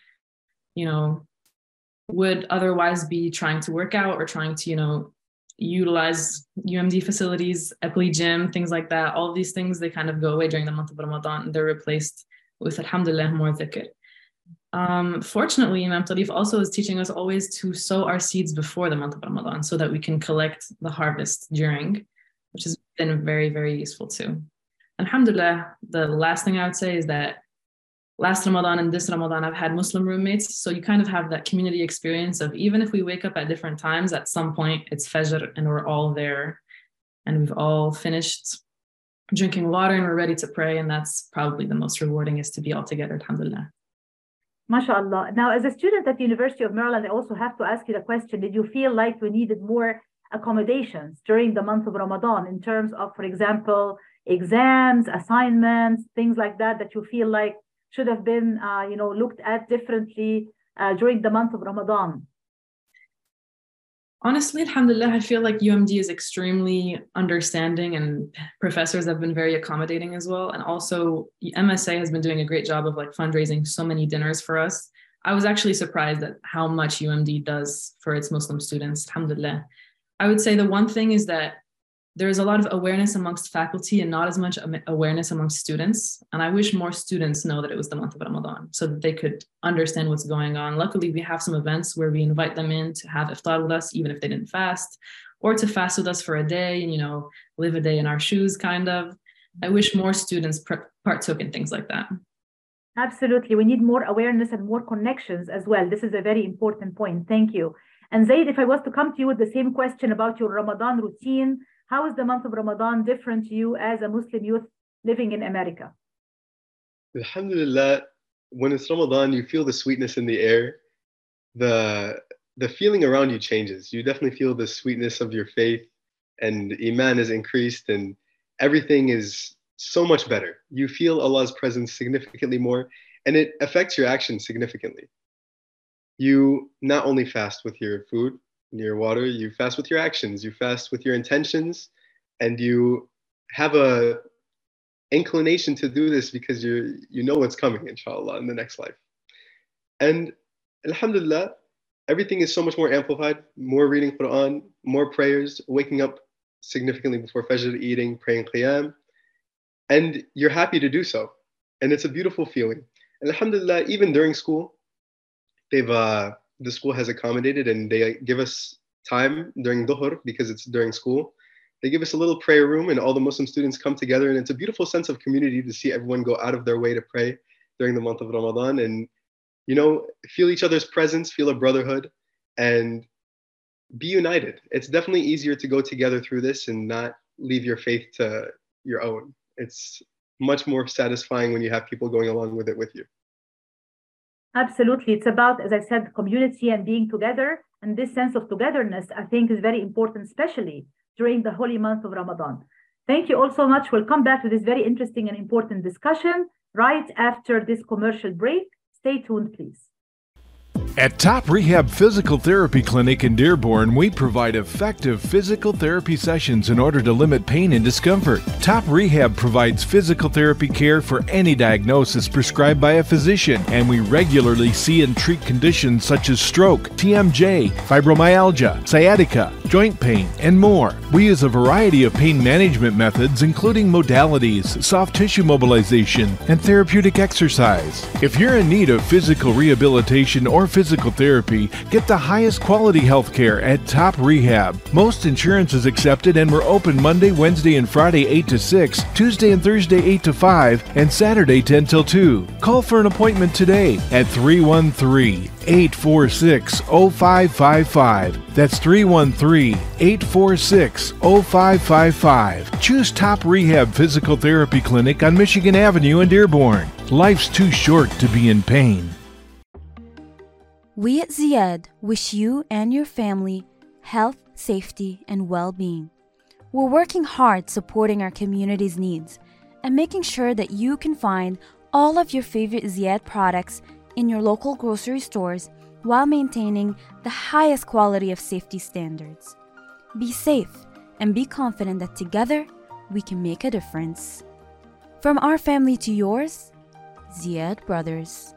would otherwise be trying to work out or trying to, utilize UMD facilities, Eppley gym, things like that. All of these things, they kind of go away during the month of Ramadan, and they're replaced with, alhamdulillah, more dhikr. Fortunately, Imam Tarif also is teaching us always to sow our seeds before the month of Ramadan so that we can collect the harvest during, which has been very, very useful too. Alhamdulillah, the last thing I would say is that last Ramadan and this Ramadan, I've had Muslim roommates. So you kind of have that community experience of even if we wake up at different times, at some point it's Fajr and we're all there and we've all finished drinking water and we're ready to pray. And that's probably the most rewarding, is to be all together, alhamdulillah. MashaAllah. Now, as a student at the University of Maryland, I also have to ask you the question, did you feel like we needed more accommodations during the month of Ramadan in terms of, for example, exams, assignments, things like that, that you feel like should have been, looked at differently during the month of Ramadan? Honestly, alhamdulillah, I feel like UMD is extremely understanding and professors have been very accommodating as well. And also MSA has been doing a great job of fundraising so many dinners for us. I was actually surprised at how much UMD does for its Muslim students, alhamdulillah. I would say the one thing is that there is a lot of awareness amongst faculty and not as much awareness amongst students. And I wish more students know that it was the month of Ramadan so that they could understand what's going on. Luckily, we have some events where we invite them in to have iftar with us, even if they didn't fast, or to fast with us for a day and, live a day in our shoes, kind of. I wish more students partook in things like that. Absolutely. We need more awareness and more connections as well. This is a very important point. Thank you. And Zaid, if I was to come to you with the same question about your Ramadan routine, how is the month of Ramadan different to you as a Muslim youth living in America? Alhamdulillah, when it's Ramadan, you feel the sweetness in the air. The feeling around you changes. You definitely feel the sweetness of your faith, and Iman is increased, and everything is so much better. You feel Allah's presence significantly more, and it affects your actions significantly. You not only fast with your food, your water, you fast with your actions, you fast with your intentions, and you have a inclination to do this because you know what's coming, inshallah, in the next life. And alhamdulillah, everything is so much more amplified, more reading Quran, more prayers, waking up significantly before Fajr, eating, praying Qiyam, and you're happy to do so. And it's a beautiful feeling. And alhamdulillah, even during school, the school has accommodated, and they give us time during Dhuhr because it's during school. They give us a little prayer room and all the Muslim students come together, and it's a beautiful sense of community to see everyone go out of their way to pray during the month of Ramadan and, feel each other's presence, feel a brotherhood, and be united. It's definitely easier to go together through this and not leave your faith to your own. It's much more satisfying when you have people going along with it with you. Absolutely. It's about, as I said, community and being together. And this sense of togetherness, I think, is very important, especially during the holy month of Ramadan. Thank you all so much. We'll come back to this very interesting and important discussion right after this commercial break. Stay tuned, please. At Top Rehab Physical Therapy Clinic in Dearborn, we provide effective physical therapy sessions in order to limit pain and discomfort. Top Rehab provides physical therapy care for any diagnosis prescribed by a physician, and we regularly see and treat conditions such as stroke, TMJ, fibromyalgia, sciatica, joint pain, and more. We use a variety of pain management methods, including modalities, soft tissue mobilization, and therapeutic exercise. If you're in need of physical rehabilitation or physical therapy, get the highest quality health care at Top Rehab. Most insurance is accepted, and we're open Monday, Wednesday, and Friday 8 to 6, Tuesday and Thursday 8 to 5, and Saturday 10 till 2. Call for an appointment today at 313-846-0555. That's 313-846-0555. Choose Top Rehab Physical Therapy Clinic on Michigan Avenue in Dearborn. Life's too short to be in pain. We at Ziyad wish you and your family health, safety, and well-being. We're working hard supporting our community's needs and making sure that you can find all of your favorite Ziyad products in your local grocery stores while maintaining the highest quality of safety standards. Be safe and be confident that together we can make a difference. From our family to yours, Ziyad Brothers.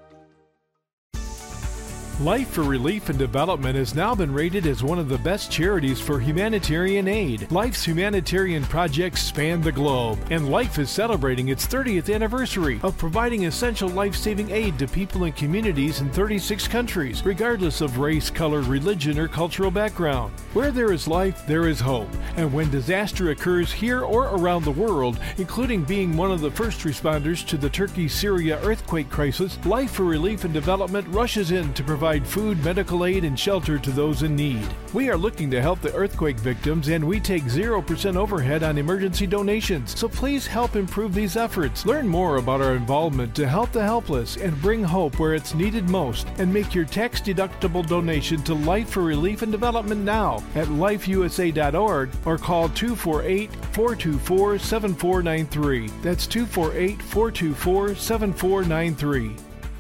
Life for Relief and Development has now been rated as one of the best charities for humanitarian aid. Life's humanitarian projects span the globe, and Life is celebrating its 30th anniversary of providing essential life-saving aid to people and communities in 36 countries, regardless of race, color, religion, or cultural background. Where there is life, there is hope. And when disaster occurs here or around the world, including being one of the first responders to the Turkey-Syria earthquake crisis, Life for Relief and Development rushes in to provide food, medical aid, and shelter to those in need. We are looking to help the earthquake victims, and we take 0% overhead on emergency donations. So please help improve these efforts. Learn more about our involvement to help the helpless and bring hope where it's needed most, and make your tax-deductible donation to Life for Relief and Development now at lifeusa.org or call 248-424-7493. That's 248-424-7493.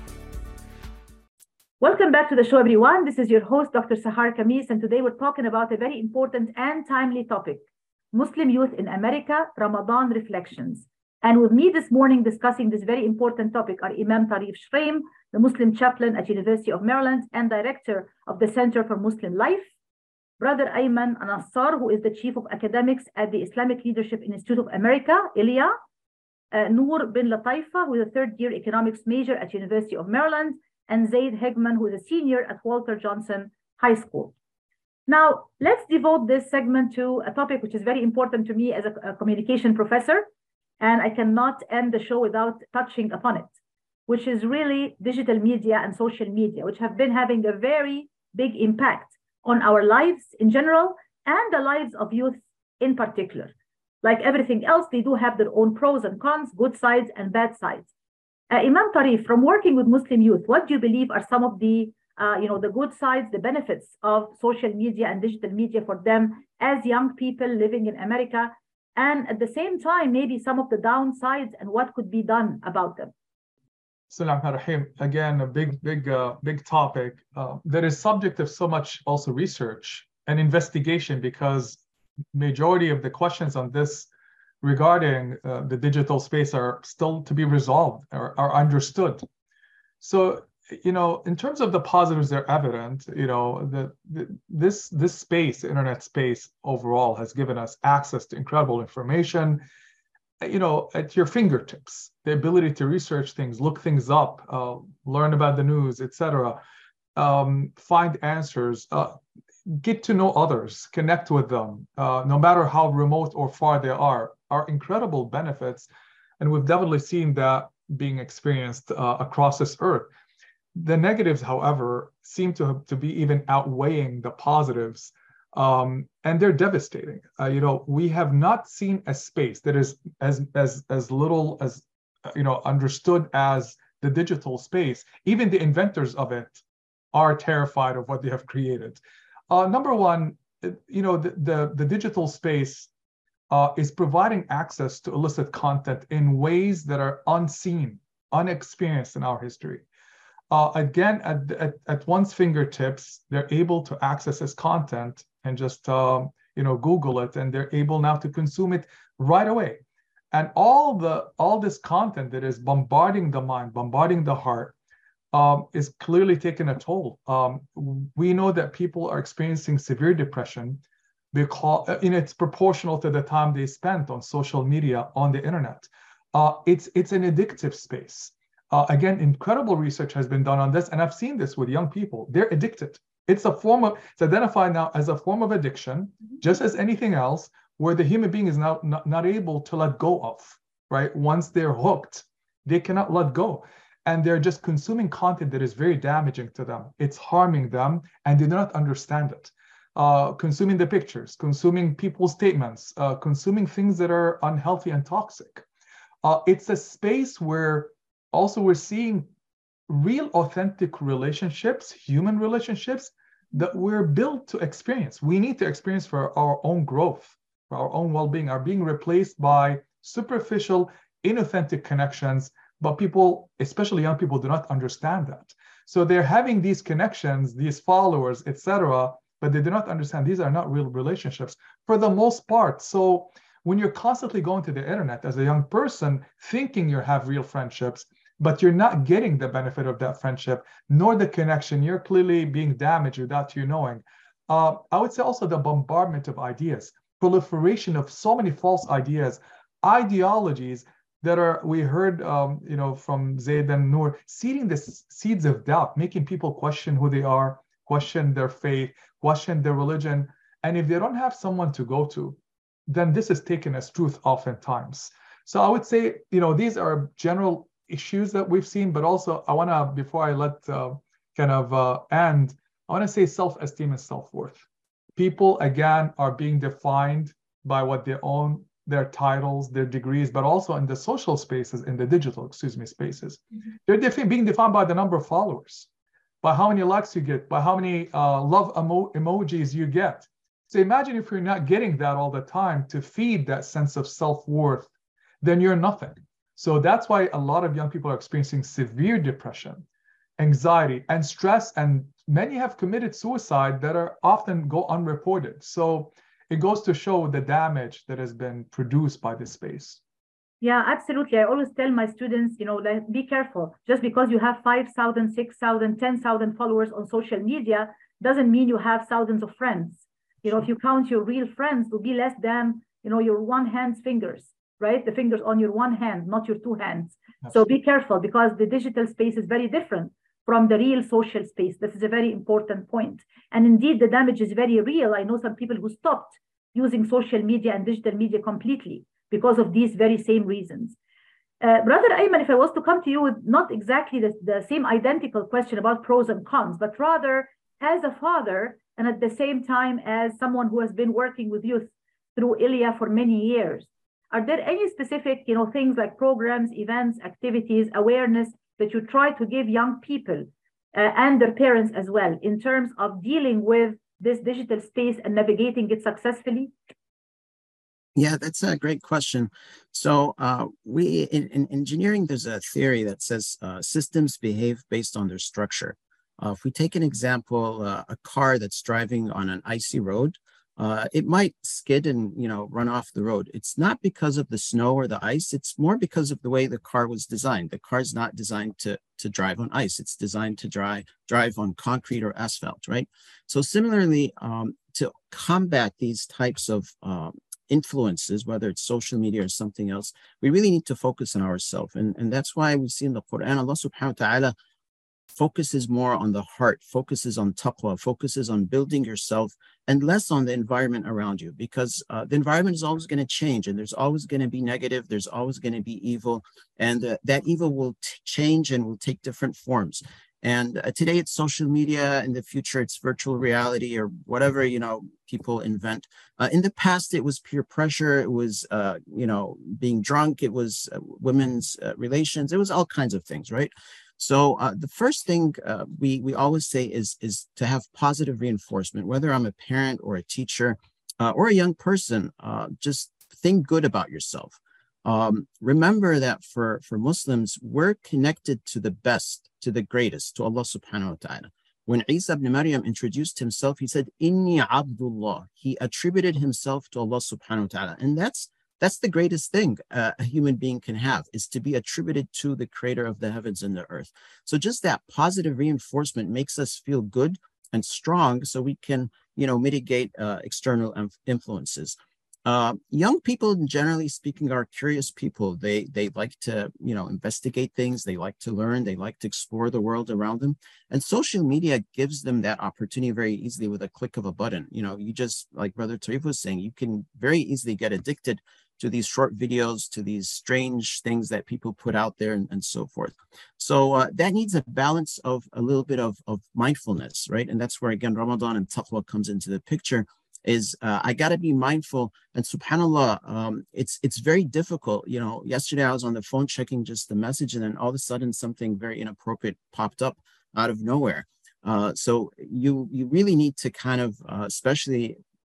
Welcome back to the show, everyone. This is your host, Dr. Sahar Khamis, and today we're talking about a very important and timely topic, Muslim youth in America, Ramadan reflections. And with me this morning discussing this very important topic are Imam Tarif Shraim, the Muslim chaplain at University of Maryland and director of the Center for Muslim Life, Brother Ayman Nassar, who is the chief of academics at the Islamic Leadership Institute of America, ILIA, Noor bin Lataifa, who is a third-year economics major at University of Maryland, and Zaid Hegman, who is a senior at Walter Johnson High School. Now, let's devote this segment to a topic which is very important to me as a communication professor, and I cannot end the show without touching upon it, which is really digital media and social media, which have been having a very big impact on our lives in general and the lives of youth in particular. Like everything else, they do have their own pros and cons, good sides and bad sides. Imam Tarif, from working with Muslim youth, what do you believe are some of the, the good sides, the benefits of social media and digital media for them as young people living in America, and at the same time, maybe some of the downsides and what could be done about them? Bismillahirrahmanirrahim. Again, a big topic that is subject of so much also research and investigation, because majority of the questions on this regarding the digital space are still to be resolved or are understood. So, in terms of the positives, they're evident. This space, internet space overall, has given us access to incredible information, at your fingertips. The ability to research things, look things up, learn about the news, etc., find answers, get to know others, connect with them, no matter how remote or far they are incredible benefits. And we've definitely seen that being experienced across this earth. The negatives, however, seem to be even outweighing the positives, and they're devastating. We have not seen a space that is as little as understood as the digital space. Even the inventors of it are terrified of what they have created. Number one, the digital space is providing access to illicit content in ways that are unseen, unexperienced in our history. Again, at one's fingertips, they're able to access this content and just Google it, and they're able now to consume it right away. And all this content that is bombarding the mind, bombarding the heart, is clearly taking a toll. We know that people are experiencing severe depression because it's proportional to the time they spent on social media, on the internet. It's an addictive space. Again, incredible research has been done on this, and I've seen this with young people. They're addicted. It's identified now as a form of addiction, just as anything else, where the human being is now not able to let go of, right? Once they're hooked, they cannot let go. And they're just consuming content that is very damaging to them. It's harming them, and they do not understand it. Consuming the pictures, consuming people's statements, consuming things that are unhealthy and toxic. It's a space where also we're seeing real authentic relationships, human relationships that we're built to experience. We need to experience for our own growth, for our own well-being, are being replaced by superficial, inauthentic connections but people, especially young people, do not understand that. So they're having these connections, these followers, etc., but they do not understand these are not real relationships for the most part. So when you're constantly going to the internet as a young person, thinking you have real friendships, but you're not getting the benefit of that friendship, nor the connection, you're clearly being damaged without you knowing. I would say also the bombardment of ideas, proliferation of so many false ideas, ideologies that are, we heard, from Zaid and Noor, seeding the seeds of doubt, making people question who they are, question their faith, question their religion. And if they don't have someone to go to, then this is taken as truth oftentimes. So I would say, these are general issues that we've seen, but also I want to, before I let end, I want to say self-esteem and self-worth. People, again, are being defined by what they own, their titles, their degrees, but also in the social spaces, in the digital, spaces. Mm-hmm. They're being defined by the number of followers, by how many likes you get, by how many love emojis you get. So imagine if you're not getting that all the time to feed that sense of self-worth, then you're nothing. So that's why a lot of young people are experiencing severe depression, anxiety, and stress, and many have committed suicide that are often go unreported. So it goes to show the damage that has been produced by this space. Yeah, absolutely. I always tell my students, be careful. Just because you have 5,000, 6,000, 10,000 followers on social media doesn't mean you have thousands of friends. If you count your real friends, will be less than, your one hand's fingers, right? The fingers on your one hand, not your two hands. Absolutely. So be careful, because the digital space is very different from the real social space. This is a very important point. And indeed, the damage is very real. I know some people who stopped using social media and digital media completely because of these very same reasons. Brother Ayman, if I was to come to you with not exactly the same identical question about pros and cons, but rather as a father, and at the same time as someone who has been working with youth through ILIA for many years, are there any specific, things like programs, events, activities, awareness that you try to give young people and their parents as well in terms of dealing with this digital space and navigating it successfully? Yeah, that's a great question. So in engineering, there's a theory that says systems behave based on their structure. If we take an example, a car that's driving on an icy road, it might skid and run off the road. It's not because of the snow or the ice. It's more because of the way the car was designed. The car's not designed to drive on ice. It's designed to drive on concrete or asphalt, right? So similarly, to combat these types of influences, whether it's social media or something else, we really need to focus on ourselves. And that's why we see in the Quran, Allah subhanahu wa ta'ala focuses more on the heart, focuses on taqwa, focuses on building yourself, and less on the environment around you, because the environment is always going to change, and there's always going to be negative, there's always going to be evil, and that evil will change and will take different forms. And today it's social media, in the future it's virtual reality or whatever, people invent. In the past, it was peer pressure, it was, being drunk, it was women's relations, it was all kinds of things, right? So the first thing we always say is to have positive reinforcement, whether I'm a parent or a teacher or a young person, just think good about yourself. Remember that for Muslims, we're connected to the best, to the greatest, to Allah subhanahu wa ta'ala. When Isa ibn Maryam introduced himself, he said, Inni Abdullah. He attributed himself to Allah subhanahu wa ta'ala. And that's the greatest thing a human being can have, is to be attributed to the creator of the heavens and the earth. So just that positive reinforcement makes us feel good and strong so we can, mitigate external influences. Young people, generally speaking, are curious people. They like to, investigate things. They like to learn. They like to explore the world around them. And social media gives them that opportunity very easily with a click of a button. You just, like Brother Tarif was saying, you can very easily get addicted to these short videos, to these strange things that people put out there and so forth. So that needs a balance of a little bit of mindfulness, right? And that's where, again, Ramadan and taqwa comes into the picture. Is I got to be mindful, and subhanAllah, it's very difficult. Yesterday I was on the phone checking just the message, and then all of a sudden something very inappropriate popped up out of nowhere. So you really need to kind of, especially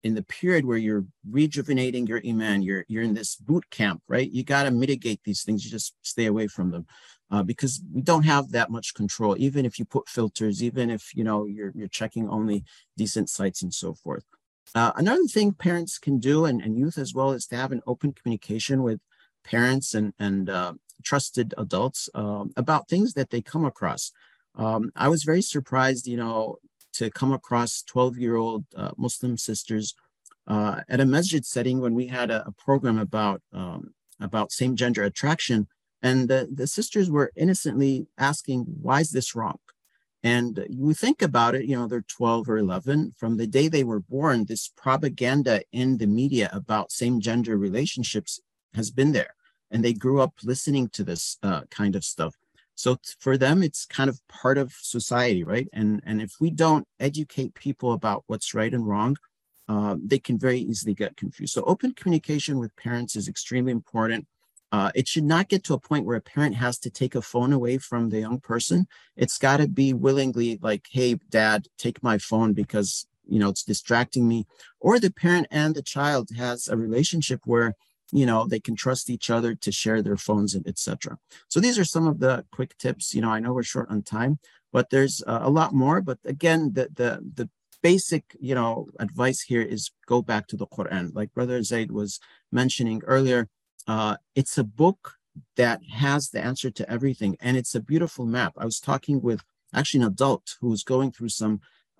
in the period where you're rejuvenating your iman, you're in this boot camp, right? You got to mitigate these things. You just stay away from them because we don't have that much control. Even if you put filters, even if you're checking only decent sites and so forth. Another thing parents can do, and youth as well, is to have an open communication with parents and trusted adults about things that they come across. I was very surprised, to come across 12-year-old Muslim sisters at a masjid setting when we had a program about same-gender attraction, and the sisters were innocently asking, "Why is this wrong?" And you think about it, they're 12 or 11. From the day they were born, this propaganda in the media about same-gender relationships has been there, and they grew up listening to this kind of stuff. So for them, it's kind of part of society, right? And if we don't educate people about what's right and wrong, they can very easily get confused. So open communication with parents is extremely important. It should not get to a point where a parent has to take a phone away from the young person. It's got to be willingly like, "Hey, Dad, take my phone because, it's distracting me." Or the parent and the child has a relationship where they can trust each other to share their phones, and etc. So these are some of the quick tips. I know we're short on time, but there's a lot more. But again, the basic, advice here is go back to the Quran. Like Brother Zaid was mentioning earlier, it's a book that has the answer to everything, and it's a beautiful map. I was talking with actually an adult who was going through some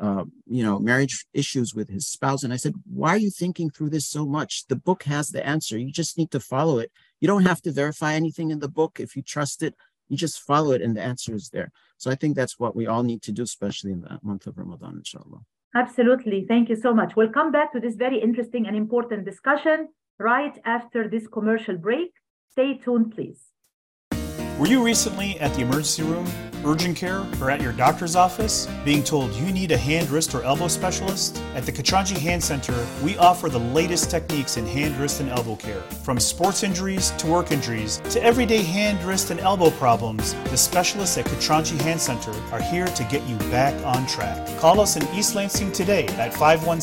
marriage issues with his spouse. And I said, "Why are you thinking through this so much? The book has the answer. You just need to follow it. You don't have to verify anything in the book. If you trust it, you just follow it and the answer is there." So I think that's what we all need to do, especially in the month of Ramadan, inshallah. Absolutely. Thank you so much. We'll come back to this very interesting and important discussion right after this commercial break. Stay tuned, please. Were you recently at the emergency room, urgent care, or at your doctor's office being told you need a hand, wrist, or elbow specialist? At the Katranji Hand Center, we offer the latest techniques in hand, wrist, and elbow care. From sports injuries to work injuries to everyday hand, wrist, and elbow problems, the specialists at Katranji Hand Center are here to get you back on track. Call us in East Lansing today at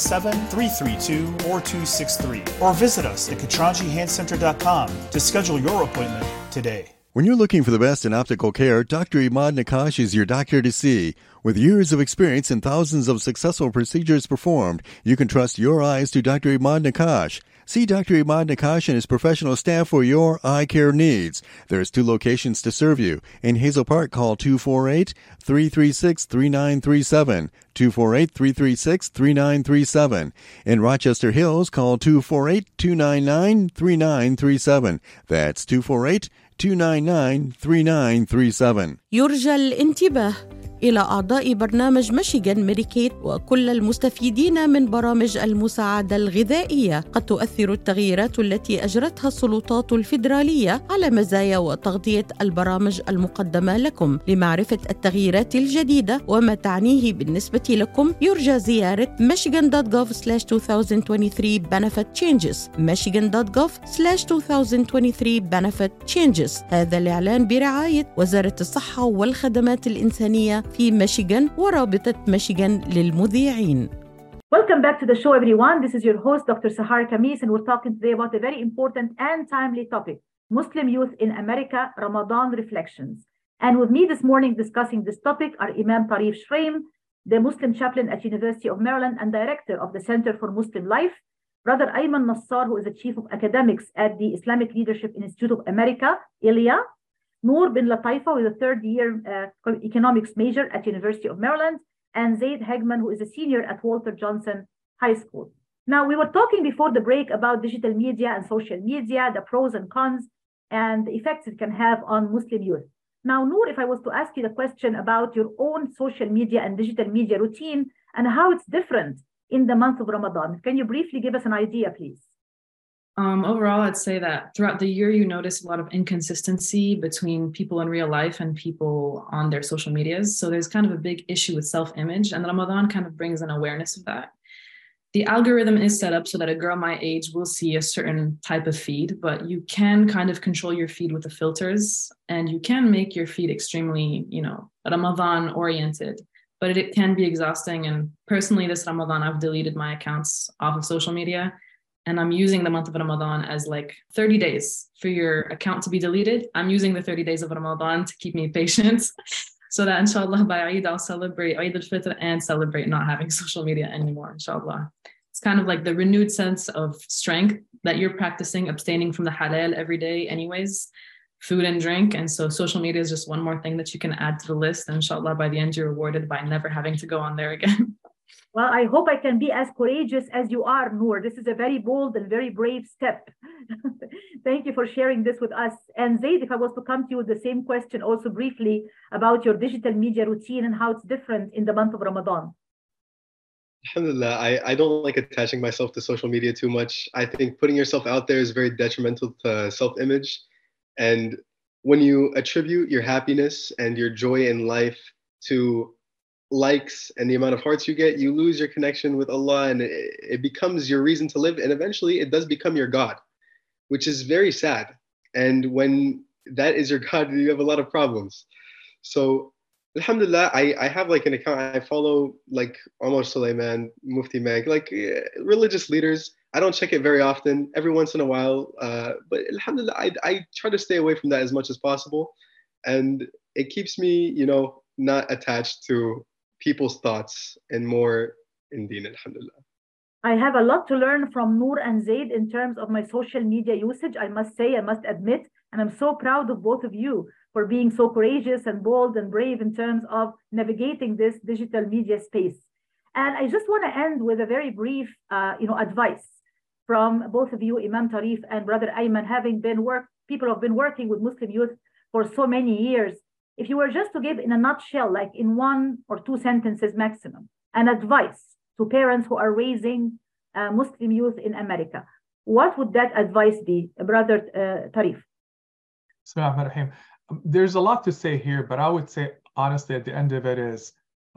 517-332-4263 or visit us at katranjihandcenter.com to schedule your appointment today. When you're looking for the best in optical care, Dr. Imad Nakash is your doctor to see. With years of experience and thousands of successful procedures performed, you can trust your eyes to Dr. Imad Nakash. See Dr. Imad Nakash and his professional staff for your eye care needs. There's 2 locations to serve you. In Hazel Park, call 248-336-3937. 248-336-3937. In Rochester Hills, call 248-299-3937. That's 248-299-3937. يرجى الانتباه إلى أعضاء برنامج ميشيغان ميديكيد وكل المستفيدين من برامج المساعدة الغذائية. قد تؤثر التغييرات التي أجرتها السلطات الفيدرالية على مزايا وتغطية البرامج المقدمة لكم. لمعرفة التغييرات الجديدة وما تعنيه بالنسبة لكم، يرجى زيارة michigan.gov/2023 benefit changes. michigan.gov/2023 benefit changes. هذا الإعلان برعاية وزارة الصحة والخدمات الإنسانية في ميشيغان ورابطة ميشيغان للمذيعين. Welcome back to the show, everyone. This is your host, Dr. Sahar Khamis, and we're talking today about a very important and timely topic, Muslim youth in America, Ramadan reflections. And with me this morning discussing this topic are Imam Tarif Shraim, the Muslim chaplain at University of Maryland and director of the Center for Muslim Life, Brother Ayman Nassar, who is the chief of academics at the Islamic Leadership Institute of America, ILIA, Noor bin Lataifa, who is a third-year economics major at University of Maryland, and Zaid Hegman, who is a senior at Walter Johnson High School. Now, we were talking before the break about digital media and social media, the pros and cons, and the effects it can have on Muslim youth. Now, Noor, if I was to ask you the question about your own social media and digital media routine and how it's different in the month of Ramadan, can you briefly give us an idea, please? Overall, I'd say that throughout the year, you notice a lot of inconsistency between people in real life and people on their social medias. So there's kind of a big issue with self-image, and Ramadan kind of brings an awareness of that. The algorithm is set up so that a girl my age will see a certain type of feed, but you can kind of control your feed with the filters, and you can make your feed extremely, Ramadan oriented. but it can be exhausting. And personally, this Ramadan, I've deleted my accounts off of social media. And I'm using the month of Ramadan as like 30 days for your account to be deleted. I'm using the 30 days of Ramadan to keep me patient so that inshallah by Eid, I'll celebrate Eid al-Fitr and celebrate not having social media anymore, inshallah. It's kind of like the renewed sense of strength that you're practicing, abstaining from the halal every day anyways, food and drink. And so social media is just one more thing that you can add to the list. And inshallah, by the end, you're rewarded by never having to go on there again. Well, I hope I can be as courageous as you are, Noor. This is a very bold and very brave step. Thank you for sharing this with us. And Zaid, if I was to come to you with the same question also briefly about your digital media routine and how it's different in the month of Ramadan. Alhamdulillah, I don't like attaching myself to social media too much. I think putting yourself out there is very detrimental to self-image. And when you attribute your happiness and your joy in life to likes and the amount of hearts you get, you lose your connection with Allah, and it becomes your reason to live. And eventually it does become your God, which is very sad. And when that is your God, you have a lot of problems. So alhamdulillah, I have like an account. I follow like Omar Suleiman, Mufti Meg, like religious leaders. I don't check it very often, every once in a while. But alhamdulillah, I try to stay away from that as much as possible. And it keeps me, not attached to people's thoughts and more in deen, alhamdulillah. I have a lot to learn from Noor and Zaid in terms of my social media usage, I must say, I must admit. And I'm so proud of both of you for being so courageous and bold and brave in terms of navigating this digital media space. And I just want to end with a very brief, advice from both of you, Imam Tarif and Brother Ayman, people who have been working with Muslim youth for so many years. If you were just to give in a nutshell, like in 1 or 2 sentences maximum, an advice to parents who are raising Muslim youth in America, what would that advice be, Brother Tarif? Bismillahirrahmanirrahim. There's a lot to say here, but I would say, honestly, at the end of it is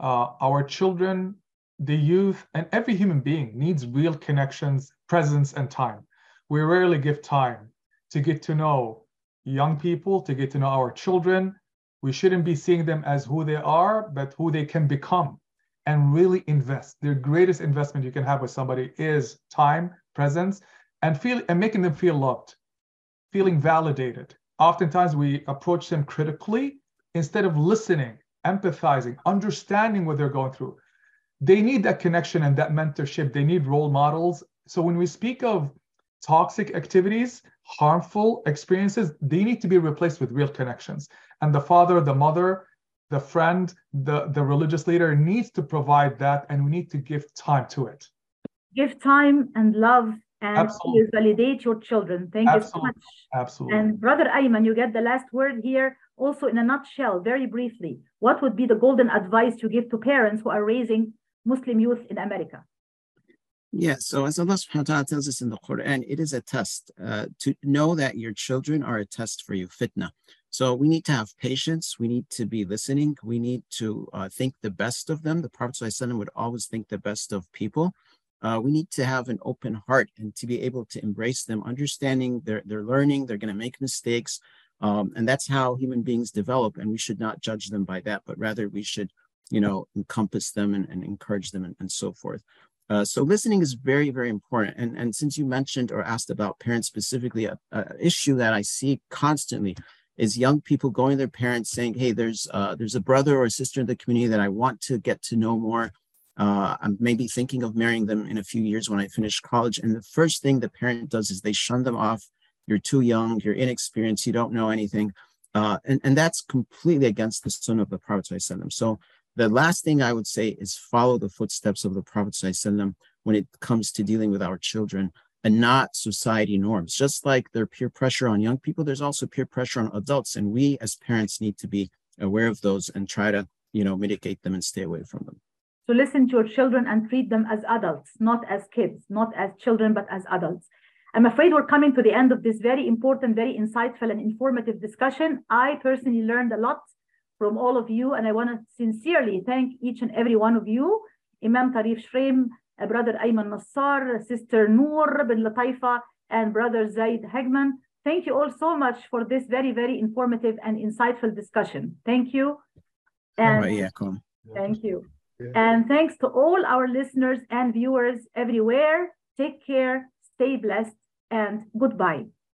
our children, the youth, and every human being needs real connections, presence, and time. We rarely give time to get to know young people, to get to know our children. We shouldn't be seeing them as who they are, but who they can become, and really invest. The greatest investment you can have with somebody is time, presence, and making them feel loved, feeling validated. Oftentimes we approach them critically instead of listening, empathizing, understanding what they're going through. They need that connection and that mentorship. They need role models. So when we speak of toxic activities, harmful experiences, they need to be replaced with real connections. And the father, the mother, the friend, the religious leader needs to provide that, and we need to give time to it. Give time and love and Absolutely. validate your children. Thank you so much. Absolutely. And Brother Ayman, you get the last word here. Also, in a nutshell, very briefly, what would be the golden advice you give to parents who are raising Muslim youth in America? Yeah, so as Allah subhanahu wa ta'ala tells us in the Quran, it is a test. To know that your children are a test for you, fitna. So we need to have patience. We need to be listening. We need to think the best of them. The Prophet ﷺ would always think the best of people. We need to have an open heart and to be able to embrace them, understanding they're learning, they're going to make mistakes. And that's how human beings develop. And we should not judge them by that, but rather we should, encompass them and encourage them and so forth. So listening is very, very important. And since you mentioned or asked about parents specifically, an issue that I see constantly is young people going to their parents saying, hey, there's a brother or a sister in the community that I want to get to know more. I'm maybe thinking of marrying them in a few years when I finish college. And the first thing the parent does is they shun them off. You're too young, you're inexperienced, you don't know anything. And that's completely against the sunnah of the Prophet ﷺ. So the last thing I would say is follow the footsteps of the Prophet ﷺ when it comes to dealing with our children and not society norms. Just like there's peer pressure on young people, there's also peer pressure on adults. And we as parents need to be aware of those and try to, mitigate them and stay away from them. So listen to your children and treat them as adults, not as kids, not as children, but as adults. I'm afraid we're coming to the end of this very important, very insightful and informative discussion. I personally learned a lot from all of you, and I want to sincerely thank each and every one of you, Imam Tarif Shreem, Brother Ayman Nassar, Sister Noor bin Lataifa, and Brother Zaid Hegman. Thank you all so much for this very, very informative and insightful discussion. Thank you. And thank you. And thanks to all our listeners and viewers everywhere. Take care, stay blessed, and goodbye.